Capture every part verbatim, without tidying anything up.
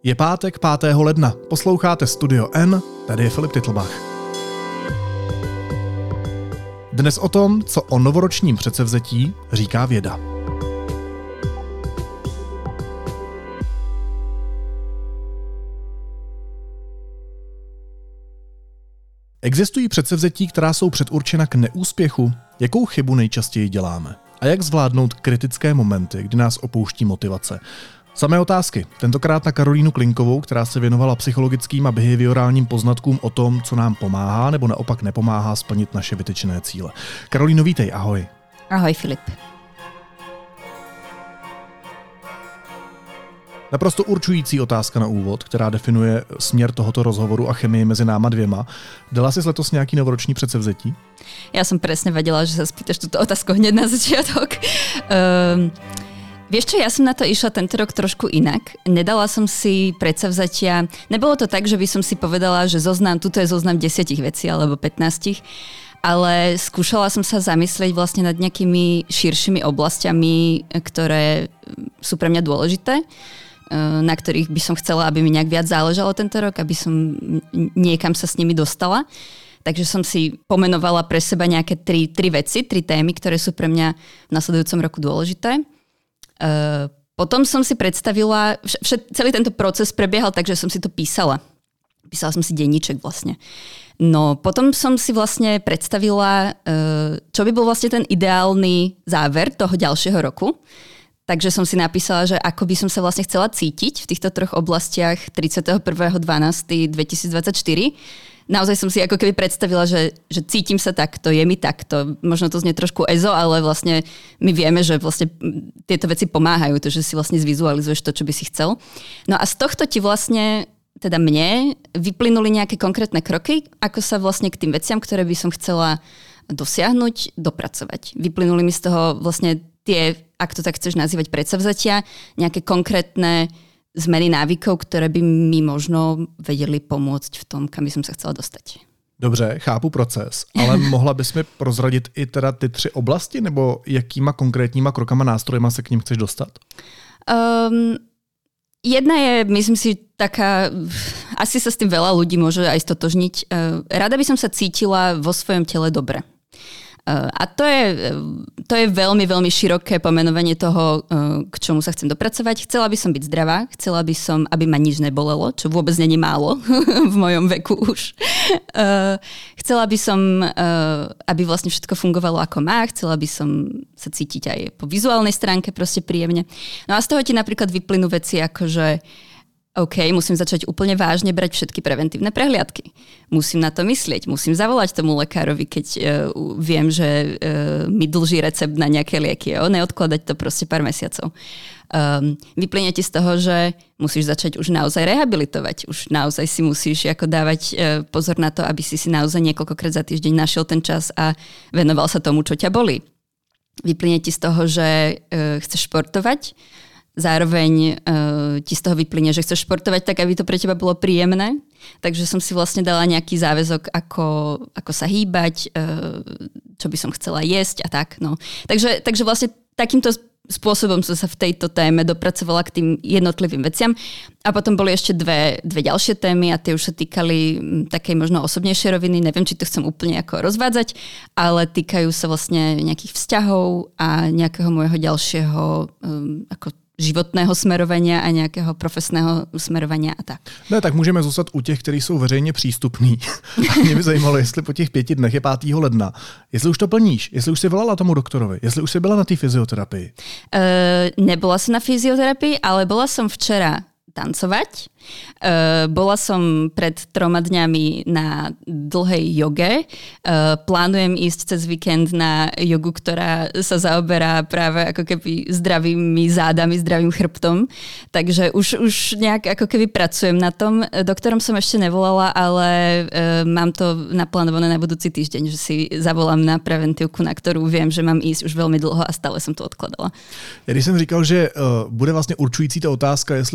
Je pátek pátého ledna, posloucháte Studio N, tady je Filip Titlbach. Dnes o tom, co o novoročním předsevzetí říká věda. Existují předsevzetí, která jsou předurčena k neúspěchu? Jakou chybu nejčastěji děláme? A jak zvládnout kritické momenty, kdy nás opouští motivace? Samé otázky. Tentokrát na Karolínu Klinkovou, která se věnovala psychologickým a behaviorálním poznatkům o tom, co nám pomáhá nebo naopak nepomáhá splnit naše vytyčené cíle. Karolíno, vítej, ahoj. Ahoj, Filip. Naprosto určující otázka na úvod, která definuje směr tohoto rozhovoru a chemii mezi náma dvěma. Dala si letos nějaký novoroční předsevzetí? Ja som presne vedela, že sa spýtaš túto otázku hneď na začiatok. Um, vieš čo, ja som na to išla tento rok trošku inak. Nedala som si predsavzatia. Nebolo to tak, že by som si povedala, že zoznam, tuto je zoznam desiatich vecí alebo pätnástich, ale skúšala som sa zamyslieť vlastne nad nejakými širšími oblastiami, ktoré sú pre mňa dôležité, na ktorých by som chcela, aby mi nejak viac záležalo tento rok, aby som niekam sa s nimi dostala. Takže som si pomenovala pre seba nejaké tri, tri veci, tri témy, ktoré sú pre mňa v nasledujúcom roku dôležité. Uh, potom som si predstavila, všet, celý tento proces prebiehal tak, že som si to písala. Písala som si denníček vlastne. No potom som si vlastne predstavila, uh, čo by bol vlastne ten ideálny záver toho ďalšieho roku. Takže som si napísala, že ako by som sa vlastne chcela cítiť v týchto troch oblastiach tridsiateho prvého decembra dvetisícdvadsaťštyri. Naozaj som si ako keby predstavila, že, že cítim sa takto, je mi takto. Možno to znie trošku ezo, ale vlastne my vieme, že vlastne tieto veci pomáhajú, to, že si vlastne zvizualizuješ to, čo by si chcel. No a z tohto ti vlastne, teda mne, vyplynuli nejaké konkrétne kroky, ako sa vlastne k tým veciam, ktoré by som chcela dosiahnuť, dopracovať. Vyplynuli mi z toho vlastne tie, ak to tak chceš nazývať, predsavzatia, nejaké konkrétne zmeny návykov, ktoré by mi možno vedeli pomôcť v tom, kam by som sa chcela dostať. Dobře, chápu proces, ale mohla bys mi prozradit i teda ty tři oblasti, nebo jakýma konkrétníma krokama, nástrojema se k ním chceš dostat? Um, jedna je, myslím si, taká, asi sa s tým veľa ľudí môže aj stotožniť. Rada by som sa cítila vo svojom tele dobre. A to je, to je veľmi, veľmi široké pomenovanie toho, k čomu sa chcem dopracovať. Chcela by som byť zdravá, chcela by som, aby ma nič nebolelo, čo vôbec není málo v mojom veku už. Chcela by som, aby vlastne všetko fungovalo ako má, chcela by som sa cítiť aj po vizuálnej stránke proste príjemne. No a z toho ti napríklad vyplynú veci ako, že OK, musím začať úplne vážne brať všetky preventívne prehliadky. Musím na to myslieť, musím zavolať tomu lekárovi, keď uh, viem, že uh, mi dlží recept na nejaké lieky. Jo? Neodkladať to proste pár mesiacov. Um, vyplynie ti z toho, že musíš začať už naozaj rehabilitovať. Už naozaj si musíš ako dávať uh, pozor na to, aby si si naozaj niekoľkokrát za týždeň našiel ten čas a venoval sa tomu, čo ťa bolí. Vyplynie ti z toho, že uh, chceš športovať. Zároveň uh, ti z toho vyplynie, že chceš športovať tak, aby to pre teba bolo príjemné. Takže som si vlastne dala nejaký záväzok, ako, ako sa hýbať, uh, čo by som chcela jesť a tak. No. Takže, takže vlastne takýmto spôsobom som sa v tejto téme dopracovala k tým jednotlivým veciam. A potom boli ešte dve, dve ďalšie témy a tie už sa týkali takej možno osobnejšej roviny. Neviem, či to chcem úplne ako rozvádzať, ale týkajú sa vlastne nejakých vzťahov a nejakého môjho ďalšieho um, ako životného smerovania a nějakého profesného smerovania a tak. Ne, tak můžeme zůstat u těch, kteří jsou veřejně přístupní. A mě by zajímalo, jestli po těch pěti dnech je pátého ledna, jestli už to plníš, jestli už jsi volala tomu doktorovi, jestli už jsi byla na té fyzioterapii. Uh, nebola som na fyzioterapii, ale bola som včera tancovať. Uh, bola som pred troma dňami na dlhej joge. Uh, plánujem ísť cez víkend na jogu, ktorá sa zaoberá práve ako keby zdravými zádami, zdravým chrbtom. Takže už, už nejak ako keby pracujem na tom. Doktorom som ešte nevolala, ale uh, mám to naplánované na budúci týždeň, že si zavolám na preventívku, na ktorú viem, že mám ísť už veľmi dlho a stále som to odkladala. Ja když jsem říkal, že uh, bude vlastně určující ta otázka, jestli dodržuješ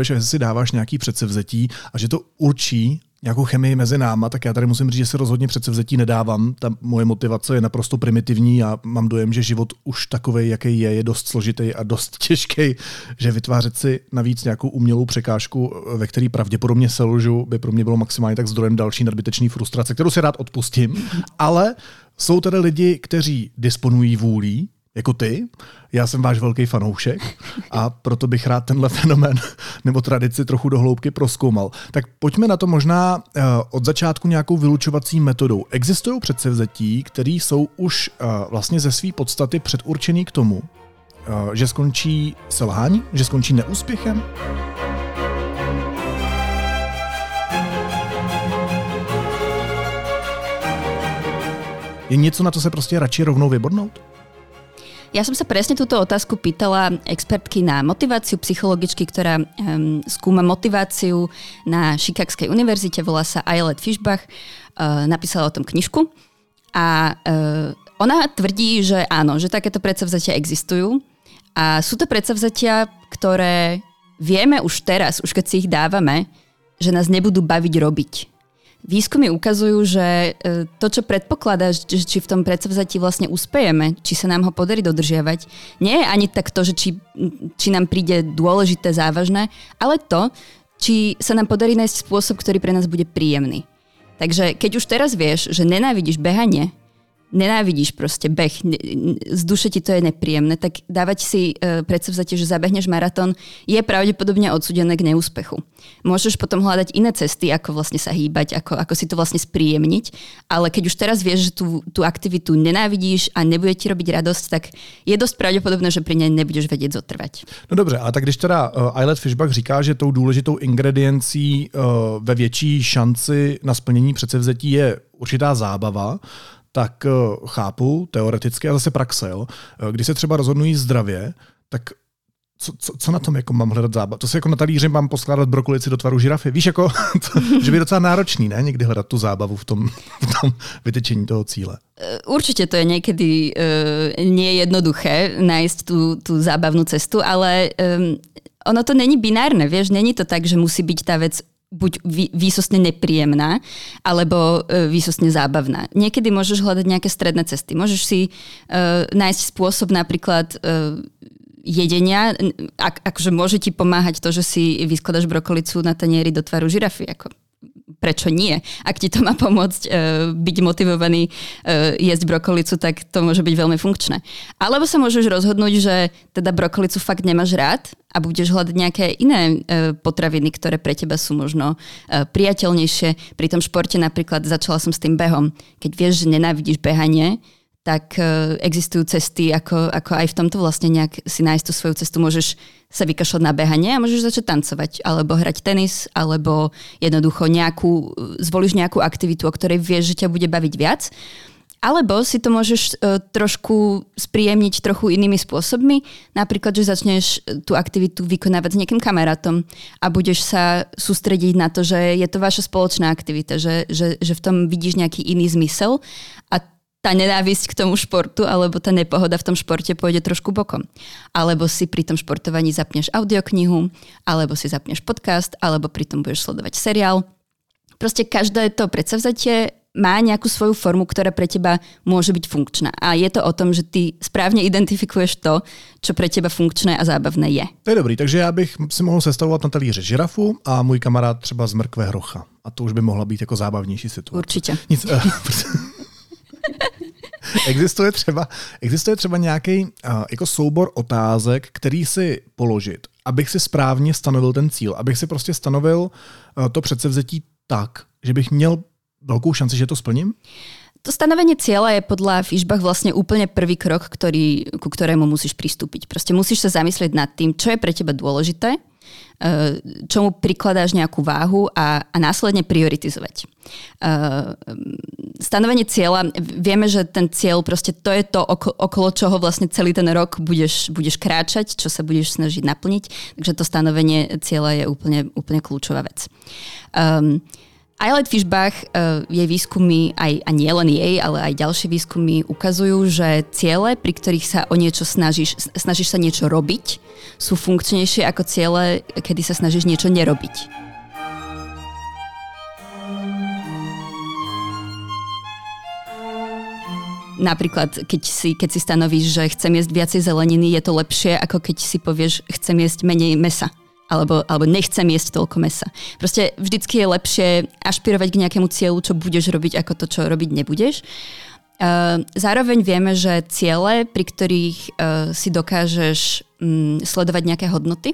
a že si dáváš nějaký předsevzetí a že to určí nějakou chemii mezi náma, tak já tady musím říct, že se rozhodně předsevzetí nedávám. Ta moje motivace je naprosto primitivní a mám dojem, že život už takovej, jaký je, je dost složitý a dost těžký, že vytvářet si navíc nějakou umělou překážku, ve který pravděpodobně selžu, by pro mě bylo maximálně tak zdrojem další nadbytečné frustrace, kterou si rád odpustím. Ale jsou tady lidi, kteří disponují vůlí, jako ty. Já jsem váš velký fanoušek a proto bych rád tenhle fenomén nebo tradici trochu do hloubky prozkoumal. Tak pojďme na to možná uh, od začátku nějakou vylučovací metodou. Existují předsevzetí, které jsou už uh, vlastně ze své podstaty předurčený k tomu, uh, že skončí selhání, že skončí neúspěchem? Je něco, na to se prostě radši rovnou vybodnout? Ja som sa presne túto otázku pýtala expertky na motiváciu, psychologičky, ktorá um, skúma motiváciu na Chicagskej univerzite, volá sa Ayelet Fishbach, uh, napísala o tom knižku a uh, ona tvrdí, že áno, že takéto predsavzatia existujú a sú to predsavzatia, ktoré vieme už teraz, už keď si ich dávame, že nás nebudú baviť robiť. Výskumy ukazujú, že to, čo predpokladá, že či v tom predsavzatí vlastne uspejeme, či sa nám ho podarí dodržiavať, nie je ani tak to, že či, či nám príde dôležité, závažné, ale to, či sa nám podarí nájsť spôsob, ktorý pre nás bude príjemný. Takže keď už teraz vieš, že nenávidíš behanie, nenávidíš proste beh, z duše ti to je nepríjemné, tak dávať si e, predsavzatie, že zabehneš maratón, je pravdepodobne odsúdené k neúspechu. Môžeš potom hľadať iné cesty, ako vlastne sa hýbať, ako, ako si to vlastne spríjemniť, ale keď už teraz vieš, že tú, tú aktivitu nenávidíš a nebude ti robiť radosť, tak je dosť pravdepodobné, že pri nej nebudeš vedieť zotrvať. No dobře, a tak když teda uh, Ayelet Fishbach říká, že tou důležitou ingrediencí uh, ve větší šanci na splnění předsevzetí je určitá zábava, tak uh, chápu teoreticky a zase praxe. Jo? Když se třeba rozhodnují zdravě, tak co, co, co na tom jako mám hledat zábavu? To se jako na talíři mám poskládat brokolici do tvaru žirafy. Víš, jako, to, že by docela náročný, ne? Někdy hledat tu zábavu v tom, v tom vytečení toho cíle. Určite to je niekedy uh, nie jednoduché nájsť tú, tú zábavnú cestu, ale um, ono to není binárne, vieš? Není to tak, že musí byť tá vec buď výsostne nepríjemná, alebo e, výsostne zábavná. Niekedy môžeš hľadať nejaké stredné cesty. Môžeš si e, nájsť spôsob napríklad e, jedenia, ak, akože môže ti pomáhať to, že si vyskladaš brokolicu na tanieri do tvaru žirafy. Ako, prečo nie? Ak ti to má pomôcť e, byť motivovaný e, jesť brokolicu, tak to môže byť veľmi funkčné. Alebo sa môžeš rozhodnúť, že teda brokolicu fakt nemáš rád a budeš hľadať nejaké iné e, potraviny, ktoré pre teba sú možno e, priateľnejšie. Pri tom športe napríklad začala som s tým behom. Keď vieš, že nenávidíš behanie, tak e, existujú cesty, ako, ako aj v tomto vlastne nejak si nájsť tú svoju cestu. Môžeš sa vykašľať na behanie a môžeš začať tancovať, alebo hrať tenis, alebo jednoducho nejakú, zvolíš nejakú aktivitu, o ktorej vieš, že ťa bude baviť viac. Alebo si to môžeš uh, trošku spríjemniť trochu inými spôsobmi. Napríklad, že začneš tú aktivitu vykonávať s nejakým kamarátom a budeš sa sústrediť na to, že je to vaša spoločná aktivita, že, že, že v tom vidíš nejaký iný zmysel a tá nenávisť k tomu športu alebo tá nepohoda v tom športe pôjde trošku bokom. Alebo si pri tom športovaní zapneš audioknihu, alebo si zapneš podcast, alebo pri tom budeš sledovať seriál. Proste každé to predsavzatie má nejakú svoju formu, ktorá pre teba môže byť funkčná. A je to o tom, že ty správne identifikuješ to, čo pre teba funkčné a zábavné je. To je dobrý, takže já bych si mohl sestavovat na talíři žirafu a můj kamarád třeba z mrkve hrocha. A to už by mohla být jako zábavnější situace. Určitě. Nic, uh, Existuje třeba, existuje třeba nějaký uh, jako soubor otázek, který si položit, abych si správně stanovil ten cíl, abych si prostě stanovil uh, to předsevzetí tak, že bych měl veľkú šanci, že to splním? To stanovenie cieľa je podľa Fishbach vlastne úplne prvý krok, ktorý, ku ktorému musíš pristúpiť. Proste musíš sa zamyslieť nad tým, čo je pre teba dôležité, čomu prikladáš nejakú váhu a, a následne prioritizovať. Stanovenie cieľa, vieme, že ten cieľ proste to je to, okolo čoho vlastne celý ten rok budeš, budeš kráčať, čo sa budeš snažiť naplniť, takže to stanovenie cieľa je úplne, úplne kľúčová vec. Um, Eilert Fishbach, jej výskumy, aj, a nie len jej, ale aj ďalšie výskumy ukazujú, že ciele, pri ktorých sa o niečo snažíš, snažíš sa niečo robiť, sú funkčnejšie ako ciele, kedy sa snažíš niečo nerobiť. Napríklad, keď si, keď si stanovíš, že chcem jesť viacej zeleniny, je to lepšie, ako keď si povieš, chcem jesť menej mesa. Alebo, alebo nechcem jesť toľko mesa. Proste vždycky je lepšie ašpirovať k nejakému cieľu, čo budeš robiť, ako to, čo robiť nebudeš. Zároveň vieme, že ciele, pri ktorých si dokážeš sledovať nejaké hodnoty,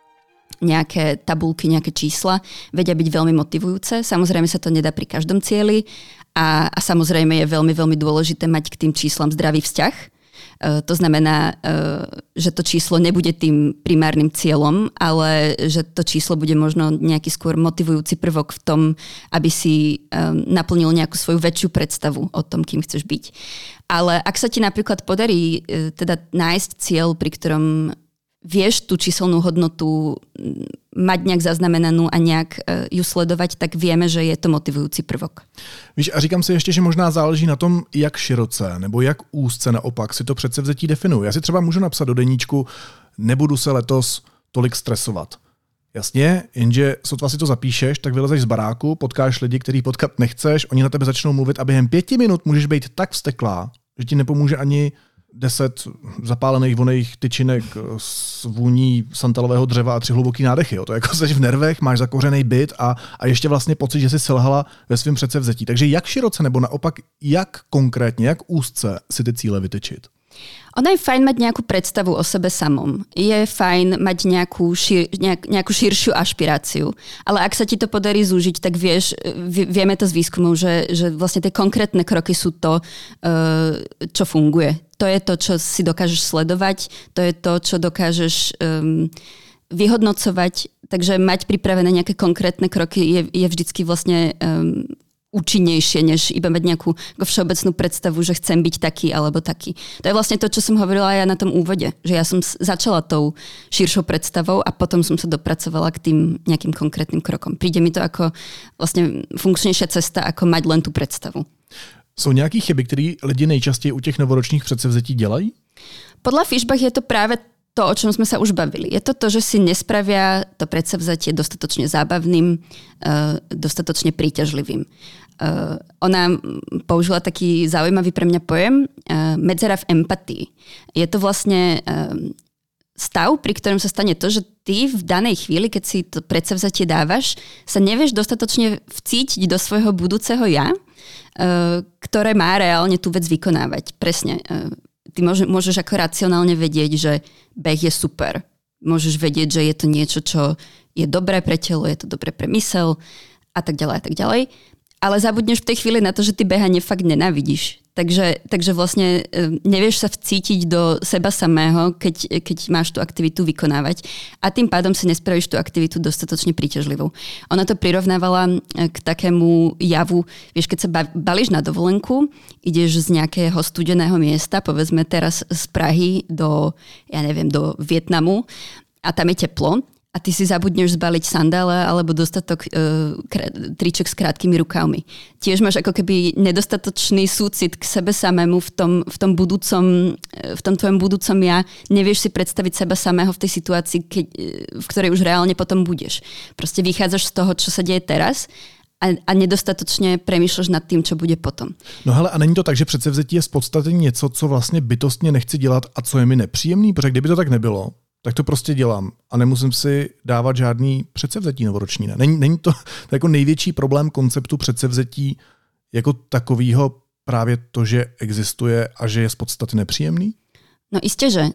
nejaké tabulky, nejaké čísla, vedia byť veľmi motivujúce. Samozrejme sa to nedá pri každom cieli a, a samozrejme je veľmi, veľmi dôležité mať k tým číslam zdravý vzťah. Uh, to znamená, uh, že to číslo nebude tým primárnym cieľom, ale že to číslo bude možno nejaký skôr motivujúci prvok v tom, aby si um, naplnil nejakú svoju väčšiu predstavu o tom, kým chceš byť. Ale ak sa ti napríklad podarí uh, teda nájsť cieľ, pri ktorom vieš tú číselnú hodnotu mať nejak zaznamenanú a nejak ju sledovať, tak vieme, že je to motivujúci prvok. Víš, a říkám si ještě, že možná záleží na tom, jak široce nebo jak úzce naopak si to předsevzetí definuje. Já si třeba můžu napsat do deníčku, nebudu se letos tolik stresovat. Jasně, jenže sotva si to zapíšeš, tak vylezeš z baráku, potkáš lidi, který potkat nechceš, oni na tebe začnou mluvit a během pěti minut můžeš být tak vzteklá, že ti nepomůže ani deset zapálených voných tyčinek s vůní santalového dřeva a tři hluboký nádechy. Jo. To jako seš v nervech, máš zakořený byt a, a ještě vlastně pocit, že jsi selhala ve svém předsevzetí. Takže jak široce nebo naopak, jak konkrétně, jak úzce si ty cíle vytyčit? Ono je fajn mať nejakú predstavu o sebe samom. Je fajn mať nejakú, šir, nejak, nejakú širšiu ašpiráciu. Ale ak sa ti to podarí zúžiť, tak vieš, vieme to z výskumov, že, že vlastne tie konkrétne kroky sú to, čo funguje. To je to, čo si dokážeš sledovať, to je to, čo dokážeš um, vyhodnocovať. Takže mať pripravené nejaké konkrétne kroky je, je vždycky vlastne um, účinnejšie, než iba mať nejakú všeobecnú predstavu, že chcem byť taký alebo taký. To je vlastne to, čo som hovorila aj ja na tom úvode, že ja som začala tou širšou predstavou a potom som sa dopracovala k tým nejakým konkrétnym krokom. Príde mi to ako vlastne funkčnejšia cesta, ako mať len tú predstavu. Jsou nějaké chyby, které lidi nejčastěji u těch novoročních předsevzetí dělají? Podľa Fishbach je to práve to, o čom sme sa už bavili. Je to to, že si nespravia to predsavzatie dostatočne zábavným, dostatočne príťažlivým. Ona použila taký zaujímavý pre mňa pojem medzera v empatii. Je to vlastne stav, pri ktorom sa stane to, že ty v danej chvíli, keď si to predsavzatie dávaš, sa nevieš dostatočne vcítiť do svojho budúceho ja, ktoré má reálne tú vec vykonávať. Presne. Ty môžeš ako racionálne vedieť, že beh je super. Môžeš vedieť, že je to niečo, čo je dobré pre telo, je to dobré pre mysel a tak ďalej a tak ďalej. Ale zabudneš v tej chvíli na to, že ty behanie fakt nenávidíš. Takže, takže vlastne nevieš sa vcítiť do seba samého, keď, keď máš tú aktivitu vykonávať a tým pádom si nespravíš tú aktivitu dostatočne príťažlivou. Ona to prirovnávala k takému javu, vieš, keď sa balíš na dovolenku, ideš z nejakého studeného miesta, povedzme teraz z Prahy do, ja neviem, do Vietnamu a tam je teplo. A ty si zabudneš zbaliť sandále alebo dostatok uh, kr- triček s krátkými rukávmi. Tiež máš ako keby nedostatočný súcit k sebe samému v tom, v tom budúcom, v tom tvojom budúcom ja. Nevieš si predstaviť seba samého v tej situácii, keď, v ktorej už reálne potom budeš. Proste vychádzaš z toho, čo sa deje teraz a, a nedostatočne premýšľaš nad tým, čo bude potom. No hele, a není to tak, že předsevzetí je z podstaty něco, co vlastně bytostně nechci dělat a co je mi nepříjemný? Protože kdyby to tak nebylo, tak to prostě dělám a nemusím si dávat žádný předsevzetí novoroční. Ne? Není, není to, to jako největší problém konceptu předsevzetí jako takového právě to, že existuje a že je z podstaty nepříjemný? No isté, že.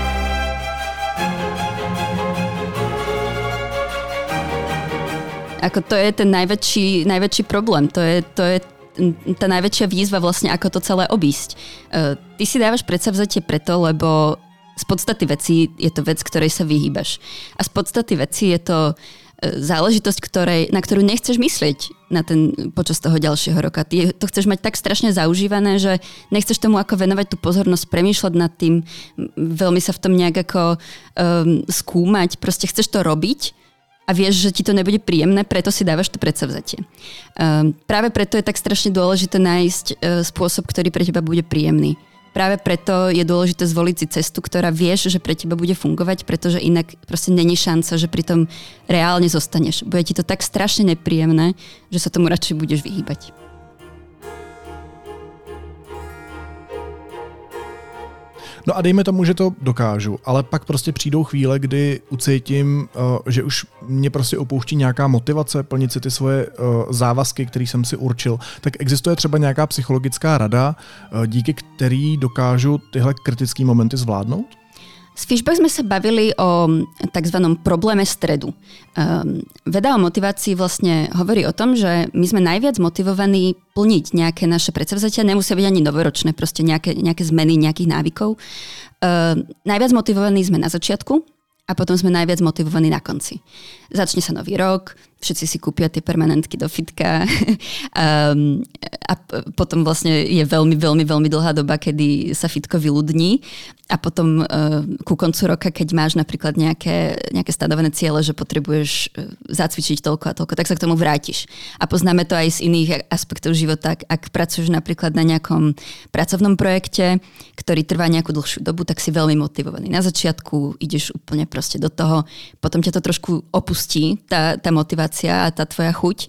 Ako to je ten najväčší, najväčší problém. To je, to je tá najväčšia výzva vlastne, ako to celé obísť. Ty si dávaš predsavzatie preto, lebo z podstaty veci je to vec, ktorej sa vyhýbaš. A z podstaty veci je to záležitosť, ktorej, na ktorú nechceš myslieť na ten, počas toho ďalšieho roka. Ty to chceš mať tak strašne zaužívané, že nechceš tomu ako venovať tú pozornosť, premýšľať nad tým, veľmi sa v tom nejak ako um, skúmať. Proste chceš to robiť a vieš, že ti to nebude príjemné, preto si dávaš to predsavzatie. Um, práve preto je tak strašne dôležité nájsť uh, spôsob, ktorý pre teba bude príjemný. Práve preto je dôležité zvoliť si cestu, ktorá vieš, že pre teba bude fungovať, pretože inak proste není šanca, že pri tom reálne zostaneš. Bude ti to tak strašne nepríjemné, že sa tomu radšej budeš vyhýbať. No a dejme tomu, že to dokážu, ale pak prostě přijdou chvíle, kdy ucítím, že už mě prostě opouští nějaká motivace plnit si ty svoje závazky, které jsem si určil. Tak existuje třeba nějaká psychologická rada, díky který dokážu tyhle kritické momenty zvládnout? S Fishbach sme sa bavili o takzvanom probléme stredu. Um, veda o motivácii vlastne hovorí o tom, že my sme najviac motivovaní plniť nejaké naše predsavzatia, nemusia byť ani novoročné, proste nejaké, nejaké zmeny nejakých návykov. Um, najviac motivovaní sme na začiatku a potom sme najviac motivovaní na konci. Začne sa nový rok, všetci si kúpia tie permanentky do fitka um, a potom vlastne je veľmi, veľmi, veľmi dlhá doba, kedy sa fitko vyľudní a potom uh, ku koncu roka, keď máš napríklad nejaké, nejaké stanovené ciele, že potrebuješ zacvičiť toľko a toľko, tak sa k tomu vrátiš. A poznáme to aj z iných aspektov života. Ak pracuješ napríklad na nejakom pracovnom projekte, ktorý trvá nejakú dlhšiu dobu, tak si veľmi motivovaný. Na začiatku ideš úplne proste do toho, potom ťa to trošku opustí, tá, tá motivácia a tá tvoja chuť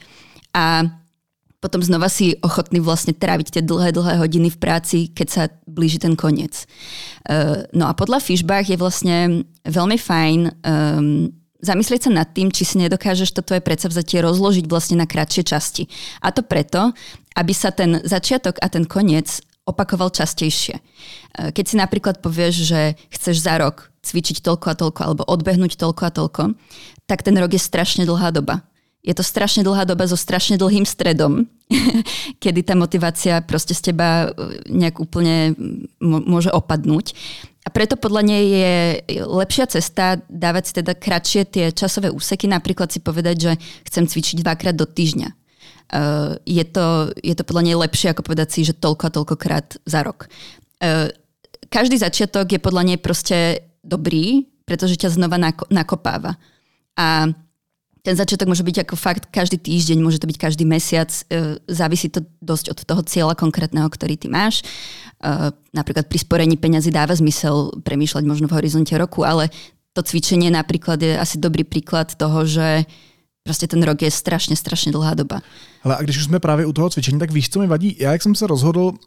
a potom znova si ochotný vlastne tráviť tie dlhé, dlhé hodiny v práci, keď sa blíži ten koniec. Uh, no a podľa Fishbach je vlastne veľmi fajn um, zamyslieť sa nad tým, či si nedokážeš to tvoje predsavzatie rozložiť vlastne na kratšie časti. A to preto, aby sa ten začiatok a ten koniec opakoval častejšie. Keď si napríklad povieš, že chceš za rok cvičiť toľko a toľko alebo odbehnúť toľko a toľko, tak ten rok je strašne dlhá doba. Je to strašne dlhá doba so strašne dlhým stredom, kedy tá motivácia proste z teba nejak úplne môže opadnúť. A preto podľa nej je lepšia cesta dávať si teda kratšie tie časové úseky, napríklad si povedať, že chcem cvičiť dvakrát do týždňa. Uh, je, to, je to podľa nej lepšie, ako povedať si, že toľko a toľkokrát za rok. Uh, každý začiatok je podľa nej proste dobrý, pretože ťa znova nako- nakopáva. A ten začiatok môže byť ako fakt každý týždeň, môže to byť každý mesiac. Uh, závisí to dosť od toho cieľa konkrétneho, ktorý ty máš. Uh, napríklad pri sporení peňazí dáva zmysel premýšľať možno v horizonte roku, ale to cvičenie napríklad je asi dobrý príklad toho, že prostě ten rok je strašně, strašně dlhá doba. Hele, a když už jsme právě u toho cvičení, tak víš, co mi vadí? Já jak jsem se rozhodl, uh,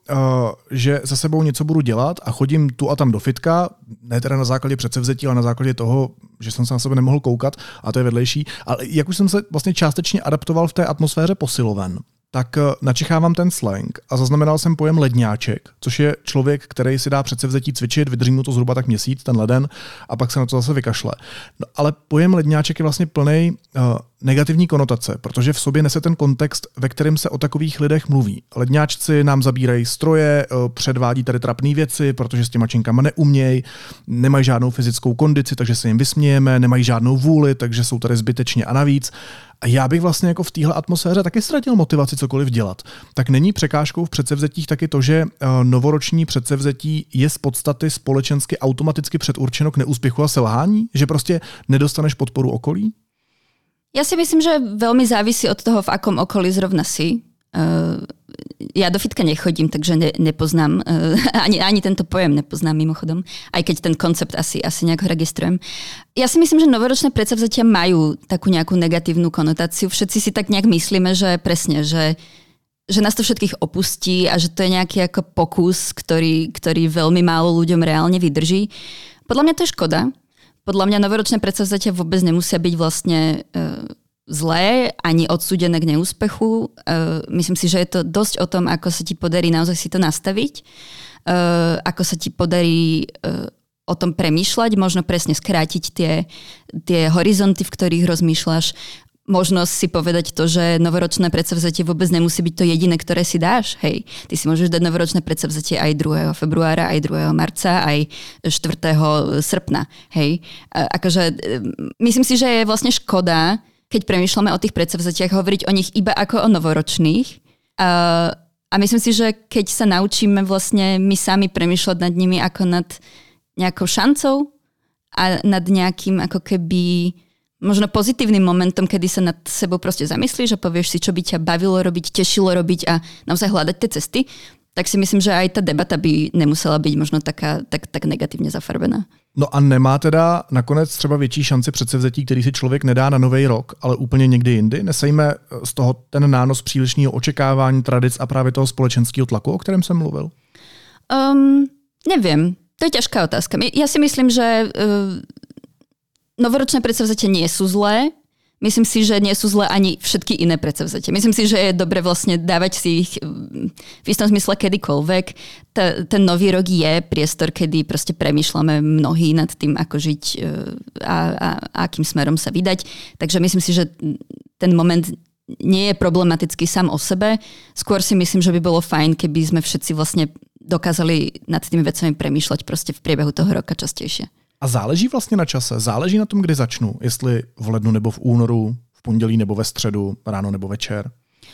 že se sebou něco budu dělat a chodím tu a tam do fitka, ne teda na základě předsevzetí, ale na základě toho, že jsem se na sebe nemohl koukat, a to je vedlejší, ale jak už jsem se vlastně částečně adaptoval v té atmosféře posiloven, tak načichávám ten slang a zaznamenal jsem pojem ledňáček, což je člověk, který si dá předsevzetí cvičit, vydrží mu to zhruba tak měsíc, ten leden, a pak se na to zase vykašle. No, ale pojem ledňáček je vlastně plnej uh, negativní konotace, protože v sobě nese ten kontext, ve kterém se o takových lidech mluví. Ledňáčci nám zabírají stroje, uh, předvádí tady trapné věci, protože s těma činkama neumějí, nemají žádnou fyzickou kondici, takže se jim vysmějeme, nemají žádnou vůli, takže jsou tady zbytečně a navíc. A já bych vlastně jako v téhle atmosféře taky ztratil motivaci cokoliv dělat. Tak není překážkou v předsevzetích taky to, že novoroční předsevzetí je z podstaty společensky automaticky předurčeno k neúspěchu a selhání? Že prostě nedostaneš podporu okolí? Ja si myslím, že veľmi závisí od toho, v akom okolí zrovna si. Uh, ja do fitka nechodím, takže ne, nepoznám, uh, ani, ani tento pojem nepoznám mimochodom, aj keď ten koncept asi, asi nejak registrujem. Ja si myslím, že novoročné predsavzatia majú takú nejakú negatívnu konotáciu. Všetci si tak nejak myslíme, že presne, že, že nás to všetkých opustí a že to je nejaký ako pokus, ktorý, ktorý veľmi málo ľuďom reálne vydrží. Podľa mňa to je škoda. Podľa mňa novoročné predsavzatia vôbec nemusia byť vlastne uh, zlé, ani odsúdené k neúspechu. Uh, myslím si, že je to dosť o tom, ako sa ti podarí naozaj si to nastaviť, uh, ako sa ti podarí uh, o tom premýšľať, možno presne skrátiť tie, tie horizonty, v ktorých rozmýšľaš. Možno si povedať to, že novoročné predsavzatie vôbec nemusí byť to jediné, ktoré si dáš. Hej, ty si môžeš dať novoročné predsavzatie aj druhého februára, aj druhého marca, aj štvrtého srpna. Hej, uh, akože myslím si, že je vlastne škoda, keď premýšľame o tých predsavzatiach, hovoriť o nich iba ako o novoročných. Uh, a myslím si, že keď sa naučíme vlastne my sami premýšľať nad nimi ako nad nejakou šancou a nad nejakým ako keby možno pozitívnym momentom, kedy sa nad sebou proste zamyslíš a povieš si, čo by ťa bavilo robiť, tešilo robiť a naozaj hľadať tie cesty, tak si myslím, že aj tá debata by nemusela byť možno taká, tak, tak negatívne zafarbená. No a nemá teda nakonec třeba větší šanci předsevzetí, který si člověk nedá na nový rok, ale úplně někdy jindy? Nesejme z toho ten nános přílišného očekávání, tradic a právě toho společenského tlaku, o kterém jsem mluvil? Um, neviem. To je ťažká otázka. Ja si myslím, že uh, novoročné predsavzatia nie sú zlé. Myslím si, že nie sú zlé ani všetky iné predsavzatia. Myslím si, že je dobre vlastne dávať si ich v istom zmysle kedykoľvek. T- ten nový rok je priestor, kedy proste premýšľame mnohí nad tým, ako žiť a, a, a akým smerom sa vydať. Takže myslím si, že ten moment nie je problematický sám o sebe. Skôr si myslím, že by bolo fajn, keby sme všetci vlastne dokázali nad tými vecami premýšľať proste v priebehu toho roka častejšie. A záleží vlastně na čase? Záleží na tom, kdy začnu? Jestli v lednu nebo v únoru, v pondělí nebo ve středu, ráno nebo večer?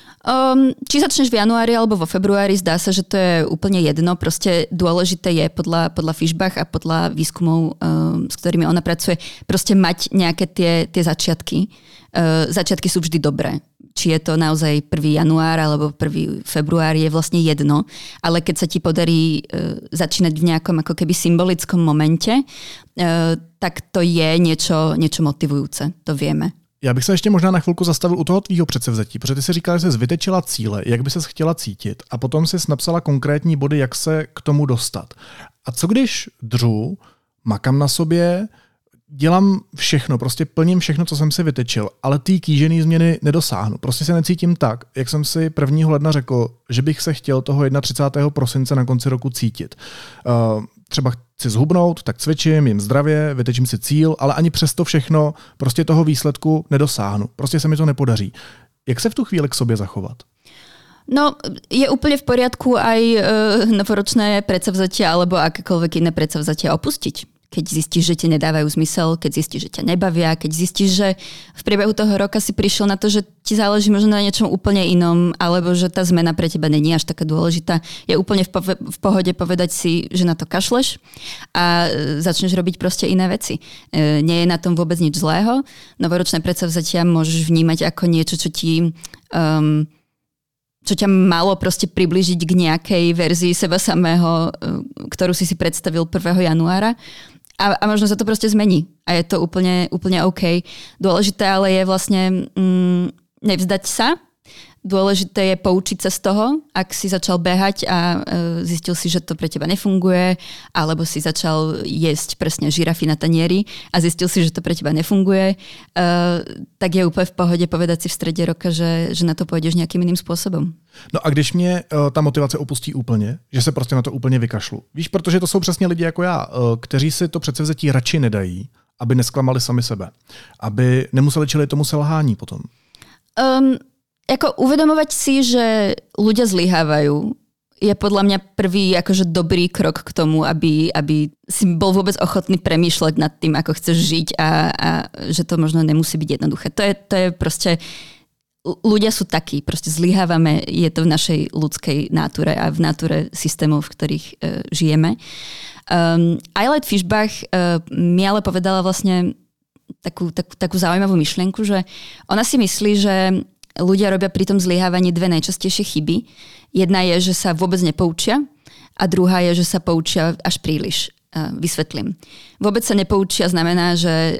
Um, či začneš v januári alebo vo februári, zdá sa, že to je úplne jedno. Proste dôležité je podľa, podľa Fischbach a podľa výskumov, um, s ktorými ona pracuje, proste mať nejaké tie, tie začiatky. Uh, začiatky sú vždy dobré. Či je to naozaj prvý január alebo prvý február, je vlastne jedno. Ale keď sa ti podarí uh, začínať v nejakom ako keby symbolickom momente, uh, tak to je niečo, niečo motivujúce. To vieme. Já bych se ještě možná na chvilku zastavil u toho tvýho předsevzetí, protože ty si říkala, že jsi vytečila cíle, jak by ses chtěla cítit a potom jsi napsala konkrétní body, jak se k tomu dostat. A co když dřu, makám na sobě, dělám všechno, prostě plním všechno, co jsem si vytečil, ale ty kýžený změny nedosáhnu. Prostě se necítím tak, jak jsem si prvního ledna řekl, že bych se chtěl toho třicátého prvního prosince na konci roku cítit. Uh, třeba chci zhubnout, tak cvičím, jim zdravě, vytečím si cíl, ale ani přesto všechno prostě toho výsledku nedosáhnu. Prostě se mi to nepodaří. Jak se v tu chvíli k sobě zachovat? No, je úplne v poriadku aj e, novoročné predsavzatia alebo akékoľvek iné predsavzatia opustiť. Keď zistíš, že ti nedávajú zmysel, keď zistíš, že ťa nebavia, keď zistíš, že v priebehu toho roka si prišiel na to, že ti záleží možno na niečom úplne inom, alebo že tá zmena pre teba není až taká dôležitá. Je úplne v, po- v pohode povedať si, že na to kašleš a začneš robiť proste iné veci. E, nie je na tom vôbec nič zlého. Novoročné predsavzatia môžeš vnímať ako niečo, čo ti... Um, čo ťa malo proste priblížiť k nejakej verzii seba samého, ktorú si si predstavil prvého januára. A, a možno sa to proste zmení. A je to úplne, úplne OK. Dôležité ale je vlastne mm, nevzdať sa. Dôležité je poučiť sa z toho, ak si začal behať a e, zistil si, že to pre teba nefunguje, alebo si začal jesť presne žirafy na tanieri a zistil si, že to pre teba nefunguje, e, tak je úplne v pohode povedať si v strede roka, že, že na to pôjdeš nejakým iným spôsobom. No a když mě uh, ta motivace opustí úplně, že se prostě na to úplně vykašlu. Víš, protože to jsou přesně lidi jako já, uh, kteří si to předsevzetí radši nedají, aby nesklamali sami sebe. Aby nemuseli čelit tomu selhání potom. Um, Ako uvedomovať si, že ľudia zlyhávajú, je podľa mňa prvý akože dobrý krok k tomu, aby, aby si bol vôbec ochotný premýšľať nad tým, ako chceš žiť a, a že to možno nemusí byť jednoduché. To je, to je proste... Ľudia sú takí, proste zlyhávame, je to v našej ľudskej náture a v náture systémov, v ktorých uh, žijeme. Um, Ayelet Fischbach uh, mi ale povedala vlastne takú, takú, takú zaujímavú myšlienku, že ona si myslí, že ľudia robia pri tom zlyhávaní dve najčastejšie chyby. Jedna je, že sa vôbec nepoučia a druhá je, že sa poučia až príliš. Vysvetlím. Vôbec sa nepoučia znamená, že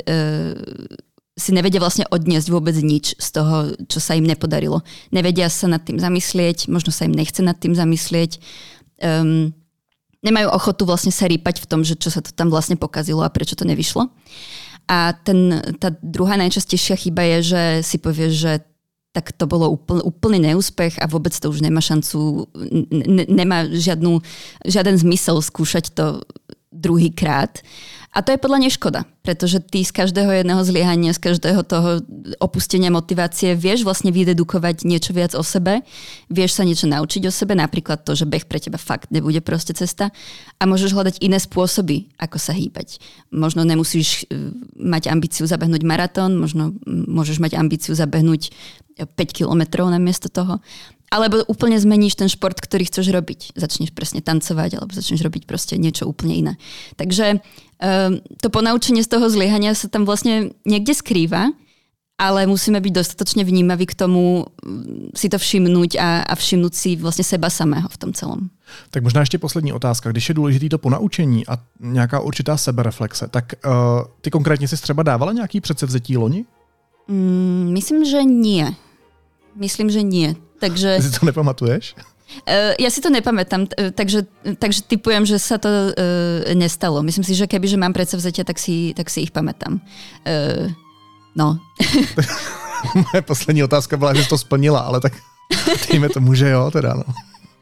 si nevedia vlastne odniesť vôbec nič z toho, čo sa im nepodarilo. Nevedia sa nad tým zamyslieť, možno sa im nechce nad tým zamyslieť. Um, nemajú ochotu vlastne sa rýpať v tom, že čo sa to tam vlastne pokazilo a prečo to nevyšlo. A ten, tá druhá najčastejšia chyba je, že si povieš, že tak to bolo úpl, úplný neúspech a vôbec to už nemá šancu, n- nemá žiadnu, žiaden zmysel skúšať to druhýkrát. A to je podľa nej škoda, pretože ty z každého jedného zlyhania, z každého toho opustenia motivácie vieš vlastne vydedukovať niečo viac o sebe, vieš sa niečo naučiť o sebe, napríklad to, že beh pre teba fakt nebude proste cesta a môžeš hľadať iné spôsoby, ako sa hýbať. Možno nemusíš mať ambíciu zabehnúť maratón, možno môžeš mať ambíciu zabehnúť päť kilometrov namiesto toho. Alebo úplne zmeníš ten šport, ktorý chceš robiť. Začneš presne tancovať, alebo začneš robiť proste niečo úplne iné. Takže um, to ponaučenie z toho zlyhania sa tam vlastne niekde skrýva, ale musíme byť dostatočne vnímaví k tomu si to všimnúť a, a všimnúť si vlastne seba samého v tom celom. Tak možná ještě poslední otázka. Když je důležitý to ponaučení a nějaká určitá sebereflexe, tak uh, ty konkrétně si třeba dávala nějaký předsevzetí loni? Mm, myslím, že nie. Myslím, že nie. Takže... Ty si to nepamatuješ? Uh, ja si to nepamätám, takže, takže typujem, že sa to uh, nestalo. Myslím si, že keby, že mám predsavzatia, tak si, tak si ich pamätám. Uh, no. Moje poslední otázka byla, že jsi to splnila, ale tak dejme tomu, že jo, teda no.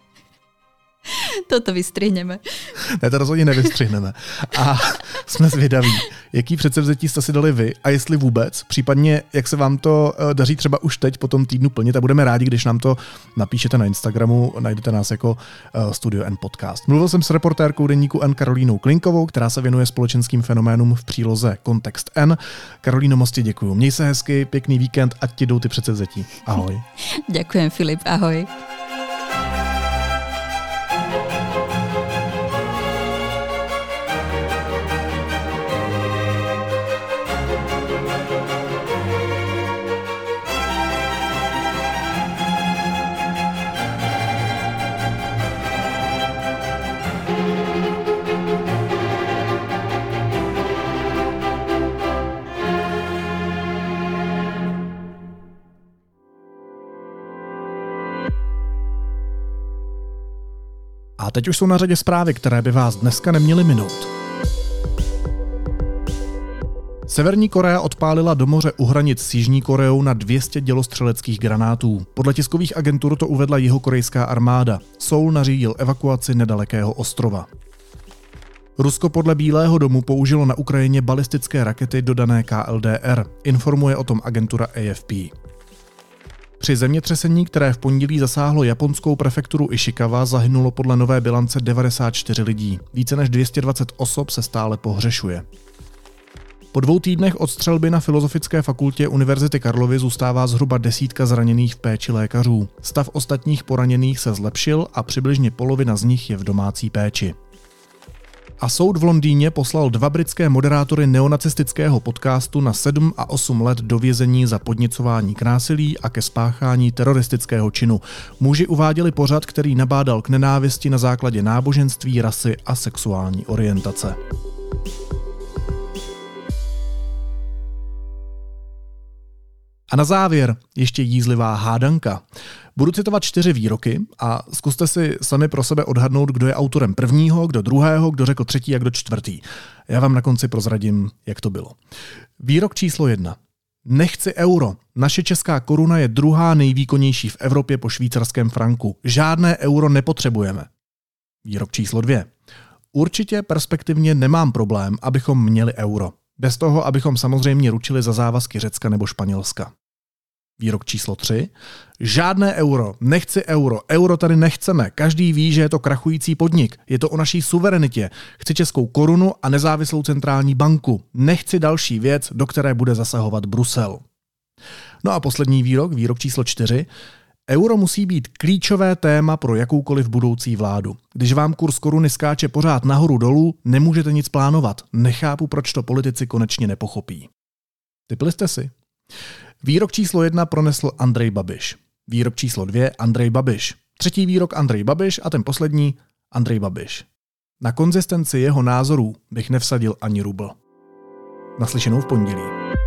Toto vystrihneme. Ne, to rozhodně nevystřihneme. A jsme zvědaví, jaký předsevzetí jste si dali vy a jestli vůbec, případně jak se vám to daří třeba už teď po tom týdnu plnit a budeme rádi, když nám to napíšete na Instagramu, najdete nás jako Studio N Podcast. Mluvil jsem s reportérkou deníku N Karolínou Klinkovou, která se věnuje společenským fenoménům v příloze Kontext N. Karolíno, moc ti děkuju. Měj se hezky, pěkný víkend, ať ti jdou ty předsevzetí. Ahoj. Ďakujem, Filip, ahoj. A teď už jsou na řadě zprávy, které by vás dneska neměly minout. Severní Korea odpálila do moře u hranic s Jižní Koreou na dvě stě dělostřeleckých granátů. Podle tiskových agentur to uvedla jihokorejská armáda. Seoul nařídil evakuaci nedalekého ostrova. Rusko podle Bílého domu použilo na Ukrajině balistické rakety dodané K L D R, informuje o tom agentura A F P. Při zemětřesení, které v pondělí zasáhlo japonskou prefekturu Ishikawa, zahynulo podle nové bilance devadesát čtyři lidí. Více než dvě stě dvacet osob se stále pohřešuje. Po dvou týdnech od střelby na Filozofické fakultě Univerzity Karlovy zůstává zhruba desítka zraněných v péči lékařů. Stav ostatních poraněných se zlepšil a přibližně polovina z nich je v domácí péči. A soud v Londýně poslal dva britské moderátory neonacistického podcastu na sedm a osm let do vězení za podněcování k násilí a ke spáchání teroristického činu. Muži uváděli pořad, který nabádal k nenávisti na základě náboženství, rasy a sexuální orientace. A na závěr ještě jízlivá hádanka. Budu citovat čtyři výroky a zkuste si sami pro sebe odhadnout, kdo je autorem prvního, kdo druhého, kdo řekl třetí a kdo čtvrtý. Já vám na konci prozradím, jak to bylo. Výrok číslo jedna. Nechci euro. Naše česká koruna je druhá nejvýkonnější v Evropě po švýcarském franku. Žádné euro nepotřebujeme. Výrok číslo dvě. Určitě perspektivně nemám problém, abychom měli euro. Bez toho, abychom samozřejmě ručili za závazky Řecka nebo Španělska. Výrok číslo tři. Žádné euro, nechci euro, euro tady nechceme. Každý ví, že je to krachující podnik. Je to o naší suverenitě. Chci českou korunu a nezávislou centrální banku. Nechci další věc, do které bude zasahovat Brusel. No a poslední výrok, výrok číslo čtyři. Euro musí být klíčové téma pro jakoukoliv budoucí vládu. Když vám kurz koruny skáče pořád nahoru dolů, nemůžete nic plánovat. Nechápu, proč to politici konečně nepochopí. Tipli jste si? Výrok číslo jedna pronesl Andrej Babiš. Výrok číslo dvě Andrej Babiš. Třetí výrok Andrej Babiš a ten poslední Andrej Babiš. Na konzistenci jeho názorů bych nevsadil ani rubl. Naslyšenou v pondělí.